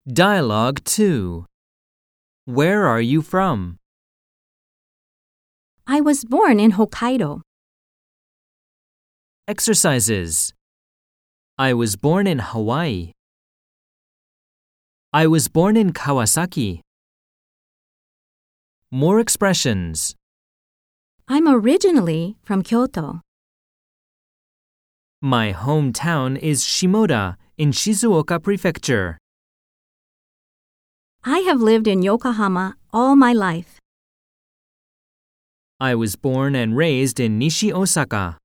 Dialogue 2. Where are you from? I was born in Hokkaido. Exercises. I was born in Hawaii. I was born in Kawasaki. More expressions. I'm originally from Kyoto. My hometown is Shimoda in Shizuoka Prefecture. I have lived in Yokohama all my life. I was born and raised in Nishi, Osaka.